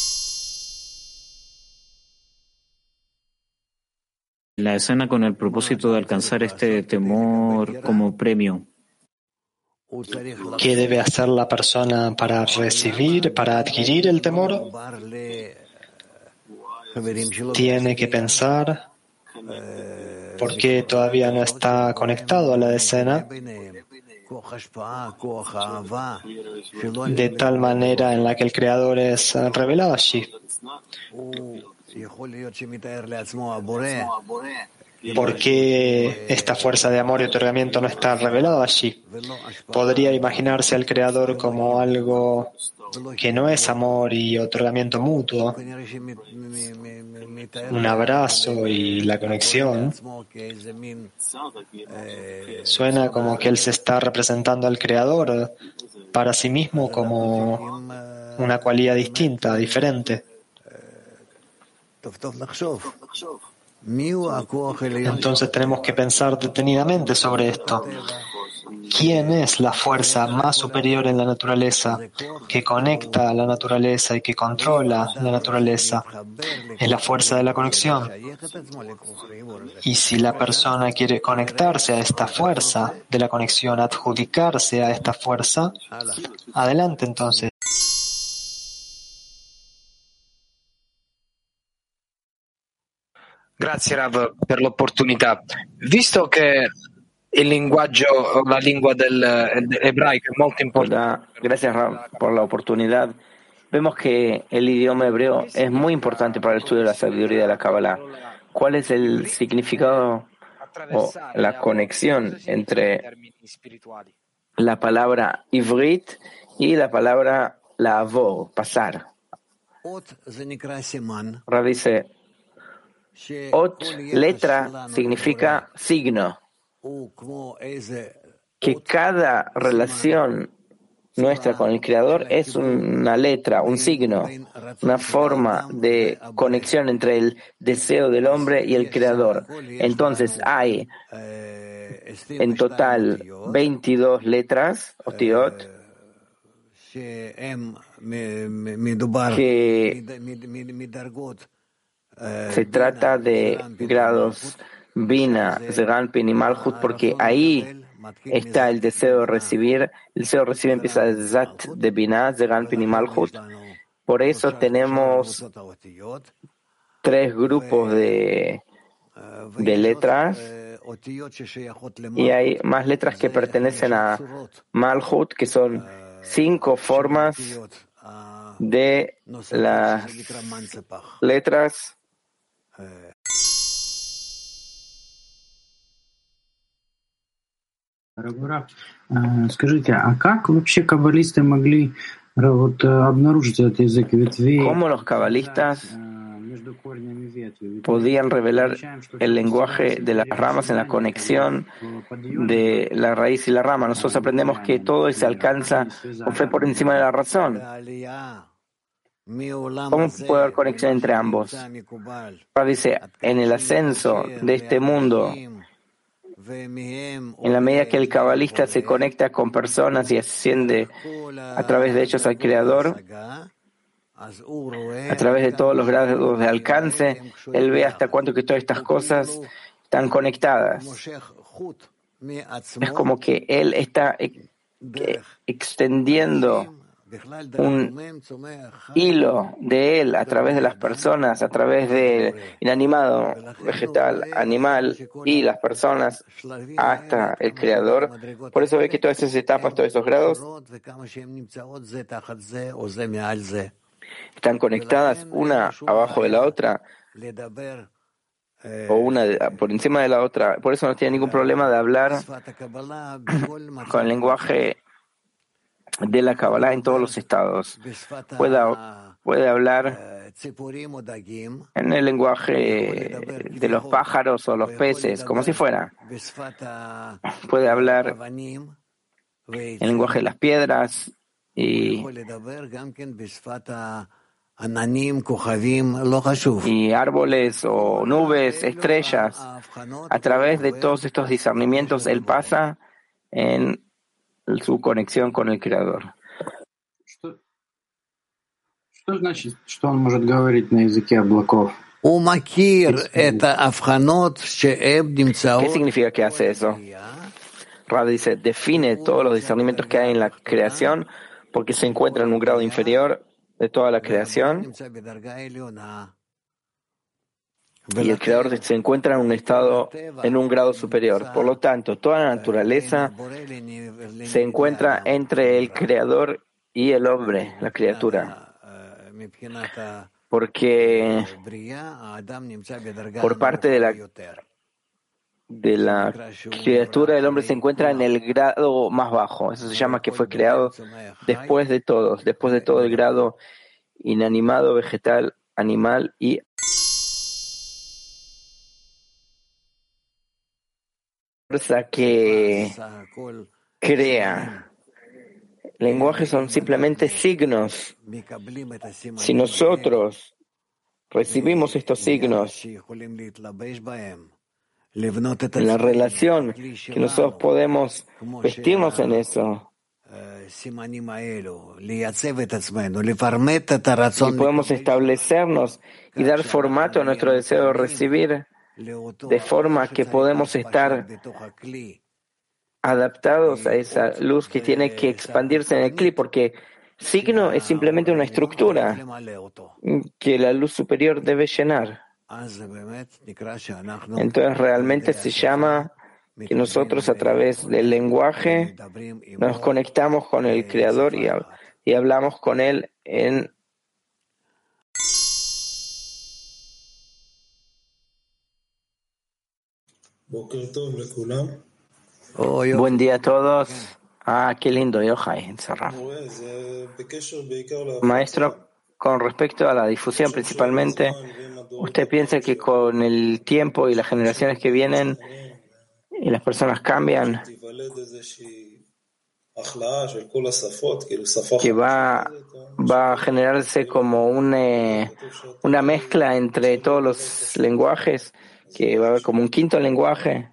la escena con el propósito de alcanzar este temor como premio. ¿Qué debe hacer la persona para adquirir el temor? Tiene que pensar por qué todavía no está conectado a la decena de tal manera en la que el Creador es revelado allí. ¿Por qué esta fuerza de amor y otorgamiento no está revelada allí? Podría imaginarse al Creador como algo que no es amor y otorgamiento mutuo, un abrazo y la conexión. Suena como que Él se está representando al Creador para sí mismo como una cualidad distinta, diferente. Entonces tenemos que pensar detenidamente sobre esto. ¿Quién es la fuerza más superior en la naturaleza, que conecta a la naturaleza y que controla la naturaleza? Es la fuerza de la conexión. Y si la persona quiere conectarse a esta fuerza de la conexión, adjudicarse a esta fuerza, adelante entonces. Grazie Rav per l'opportunità. Visto che il linguaggio, la lingua dell'ebraico è molto importante. Gracias, Ram, por la oportunidad. Vemos que el idioma hebreo es muy importante para el estudio de la sabiduría de la Kabbalah. ¿Cuál es el significado o la conexión entre la palabra ivrit y la palabra lavor, pasar? Rav dice, ot, letra, significa signo. Que cada relación nuestra con el Creador es una letra, un signo, una forma de conexión entre el deseo del hombre y el Creador. Entonces hay en total 22 letras, otiot, que se trata de grados Bina, Zeranpin y Malhut, porque ahí está el deseo de recibir. El deseo de recibir empieza de Zat de Bina, Zeranpin y Malhut. Por eso tenemos 3 grupos de letras y hay más letras que pertenecen a Malhut, que son 5 formas de las letras. Скажите, а как вообще каббалисты могли обнаружить этот язык ветвей? ¿Cómo los cabalistas podían revelar el lenguaje de las ramas en la conexión de la raíz y la rama? Nosotros aprendemos que todo se alcanza con fe por encima de la razón. ¿Cómo puede haber conexión entre ambos? Dice, en el ascenso de este mundo, en la medida que el cabalista se conecta con personas y asciende a través de ellos al Creador, a través de todos los grados de alcance, él ve hasta cuánto que todas estas cosas están conectadas. Es como que él está extendiendo un hilo de él a través de las personas, a través del inanimado, vegetal, animal y las personas hasta el Creador. Por eso ve que todas esas etapas, todos esos grados están conectadas una abajo de la otra o una por encima de la otra. Por eso no tiene ningún problema de hablar con el lenguaje de la Kabbalah en todos los estados. Puede hablar en el lenguaje de los pájaros o los peces, como si fuera. Puede hablar en el lenguaje de las piedras y árboles o nubes, estrellas. A través de todos estos discernimientos, él pasa en su conexión con el Creador. Что значит, что он может говорить на языке облаков? ¿Qué significa que hace eso? Rav dice, define todos los discernimientos que hay en la creación porque se encuentra en un grado inferior de toda la creación y el Creador se encuentra en un estado, en un grado superior. Por lo tanto, toda la naturaleza se encuentra entre el Creador y el hombre, la criatura. Porque por parte de la criatura, el hombre se encuentra en el grado más bajo. Eso se llama que fue creado después de todo el grado inanimado, vegetal, animal y fuerza que crea. Lenguajes son simplemente signos. Si nosotros recibimos estos signos en la relación, que nosotros podemos vestirnos en eso, y podemos establecernos y dar formato a nuestro deseo de recibir, de forma que podemos estar adaptados a esa luz que tiene que expandirse en el cli, porque signo es simplemente una estructura que la luz superior debe llenar. Entonces realmente se llama que nosotros a través del lenguaje nos conectamos con el Creador y hablamos con Él en Buen día a todos. Qué lindo, Yohai, encerrado. Maestro, con respecto a la difusión principalmente, ¿usted piensa que con el tiempo y las generaciones que vienen y las personas cambian, que va a generarse como una mezcla entre todos los lenguajes, que va a haber como un quinto lenguaje?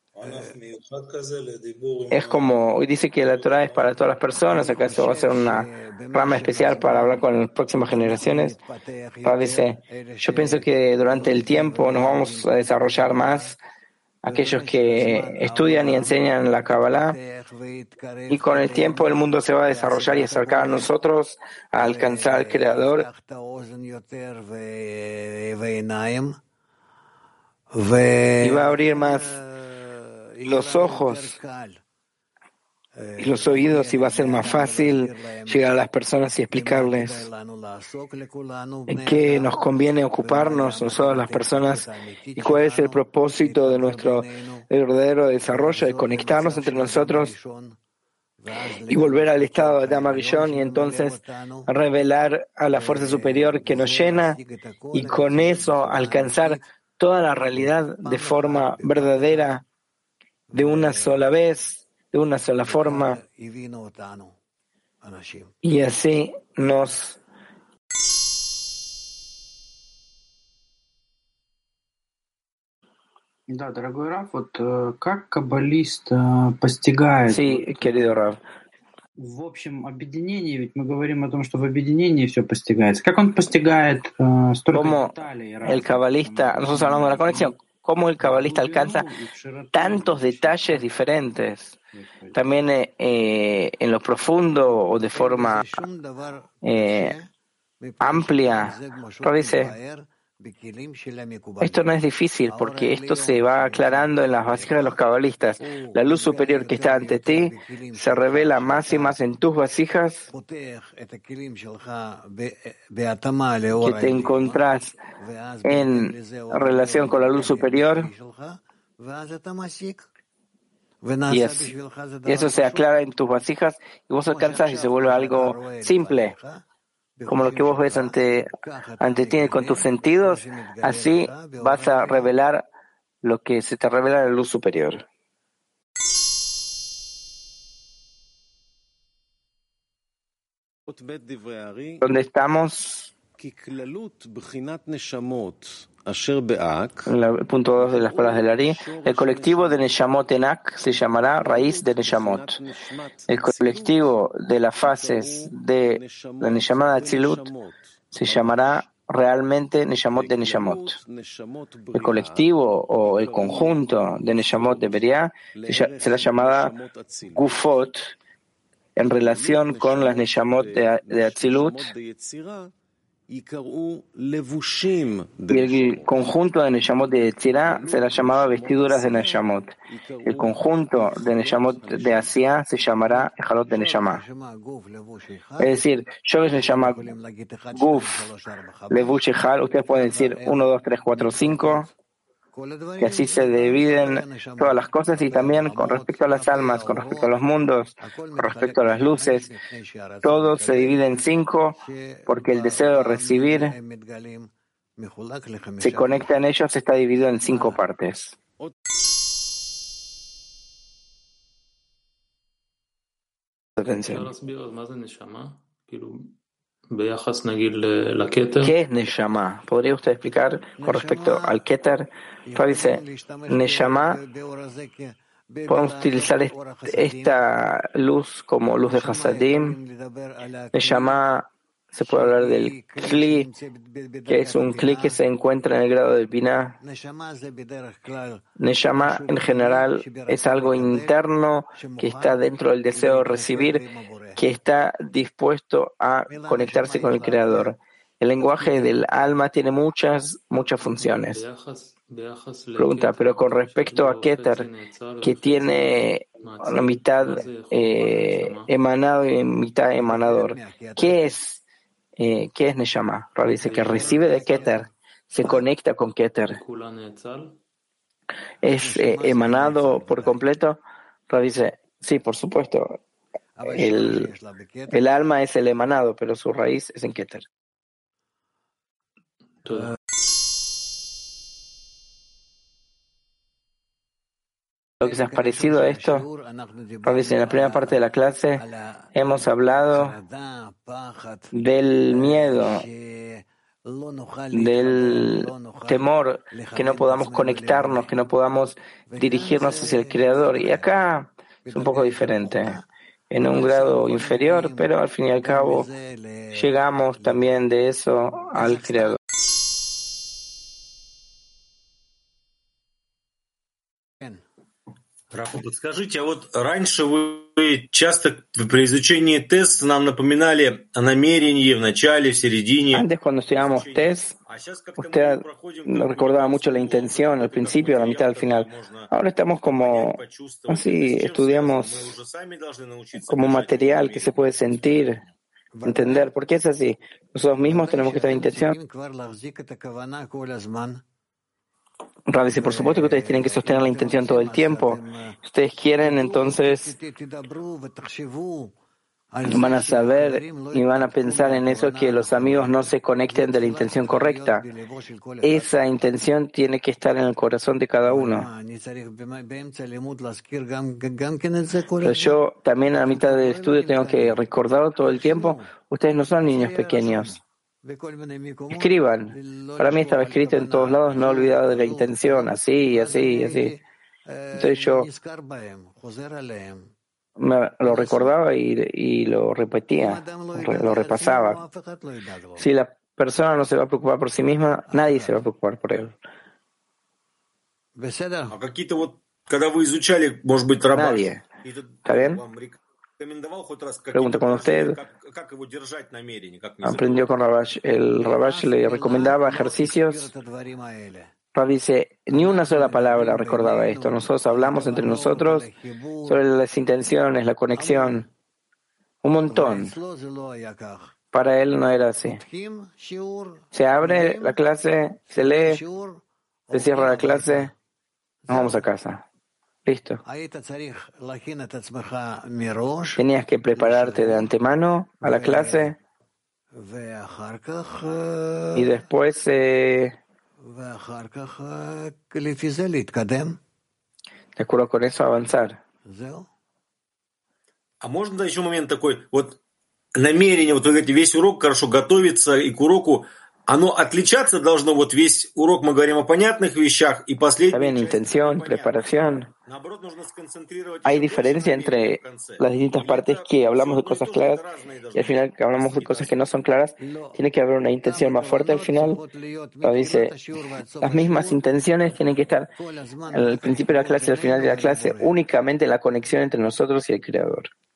Es como, hoy dice que la Torah es para todas las personas, ¿acaso va a ser una rama especial para hablar con las próximas generaciones? Dice, yo pienso que durante el tiempo nos vamos a desarrollar más aquellos que estudian y enseñan la Kabbalah, y con el tiempo el mundo se va a desarrollar y acercar a nosotros a alcanzar al Creador. Y va a abrir más los ojos y los oídos, y va a ser más fácil llegar a las personas y explicarles en qué nos conviene ocuparnos nosotros las personas y cuál es el propósito de nuestro verdadero desarrollo, de conectarnos entre nosotros y volver al estado de Dhamma Rishon, y entonces revelar a la fuerza superior que nos llena, y con eso alcanzar toda la realidad de forma verdadera, de una sola vez, de una sola forma, y así nos Да, дорогой Раф, как каббалист постигает Sí, querido Rav. в общем объединении, ведь мы говорим о том, что в объединении все постигается. Как он постигает столько Como деталей el разных? cabalista, nosotros hablamos de la conexión, cómo el cabalista alcanza tantos detalles diferentes, también en lo profundo o de forma amplia. Pero dice, esto no es difícil, porque esto se va aclarando en las vasijas de los cabalistas. La luz superior que está ante ti se revela más y más en tus vasijas, que te encontrás en relación con la luz superior, y eso se aclara en tus vasijas, y vos alcanzás y se vuelve algo simple, como lo que vos ves ante ti con tus sentidos. Así vas a revelar lo que se te revela en la luz superior. ¿Dónde estamos? En el punto 2 de las palabras del Ari, el colectivo de Neshamot Enak se llamará raíz de Neshamot. El colectivo de las fases de la Neshama de Atzilut se llamará realmente Neshamot de Neshamot. El colectivo o el conjunto de Neshamot de Beriah será llamada Gufot en relación con las Neshamot de Atzilut, Y el conjunto de Neshamot de Yetzirah se la llamaba vestiduras de Neshamot. El conjunto de Neshamot de Asiá se llamará Ejalot de Neshama. Es decir, Shoresh Neshama Guf Levush Ejal, ustedes pueden decir 1, 2, 3, 4, 5, que así se dividen todas las cosas, y también con respecto a las almas, con respecto a los mundos, con respecto a las luces, todo se divide en 5, porque el deseo de recibir se conecta en ellos, está dividido en 5 partes. Atención. ¿Qué es Neshama? ¿Podría usted explicar con respecto al Keter? Dice, Neshama, podemos utilizar esta luz como luz de Hasadim. Neshama, se puede hablar del Kli, que es un Kli que se encuentra en el grado del Binah. Neshama, en general, es algo interno que está dentro del deseo de recibir, que está dispuesto a conectarse con el Creador. El lenguaje del alma tiene muchas funciones. Pregunta, pero con respecto a Keter, que tiene la mitad emanado y mitad emanador, ¿qué es Neshama? Dice que recibe de Keter, se conecta con Keter. ¿Es emanado por completo? Dice, sí, por supuesto. El alma es el emanado, pero su raíz es en Keter. Lo que se ha parecido a esto, en la primera parte de la clase hemos hablado del miedo, del temor, que no podamos conectarnos, que no podamos dirigirnos hacia el Creador. Y acá es un poco diferente, en un grado inferior, pero al fin y al cabo llegamos también de eso al Creador. Подскажите, а вот раньше вы часто при изучении теста нам напоминали о намерении в начале, в середине. Antes, cuando estudiábamos test, usted nos recordaba mucho la intención, al principio, a la mitad, al final. Ahora estamos como así, estudiamos como material que se puede sentir, entender. ¿Por qué es así? Nosotros mismos tenemos que tener intención. Rav dice, por supuesto que ustedes tienen que sostener la intención todo el tiempo. Si ustedes quieren, entonces van a saber y van a pensar en eso, que los amigos no se conecten de la intención correcta. Esa intención tiene que estar en el corazón de cada uno. Pero yo también a la mitad del estudio tengo que recordarlo todo el tiempo. Ustedes no son niños pequeños. Escriban. Para mí estaba escrito en todos lados, no olvidado de la intención, así. Entonces yo lo recordaba y lo repetía, lo repasaba. Si la persona no se va a preocupar por sí misma, nadie se va a preocupar por él. Nadie. ¿Está bien? Pregunta, cuando usted aprendió con Rabash, el Rabash le recomendaba ejercicios. Rav dice, ni una sola palabra recordaba esto. Nosotros hablamos entre nosotros sobre las intenciones, la conexión. Un montón. Para él no era así. Se abre la clase, se lee, se cierra la clase, nos vamos a casa. Listo. Tenías que prepararte de antemano a la clase y después de acuerdo con eso avanzar. А можно еще момент такой, вот намерение, вот вы говорите, весь урок хорошо готовиться и к уроку, оно отличаться должно, вот весь урок мы говорим о понятных вещах, и последний... Está bien, intención, preparación. Hay diferencia entre las distintas partes, que hablamos de cosas claras y al final que hablamos de cosas que no son claras. Tiene que haber una intención más fuerte al final. Dice, las mismas intenciones tienen que estar al principio de la clase y al final de la clase, únicamente en la conexión entre nosotros y el Creador.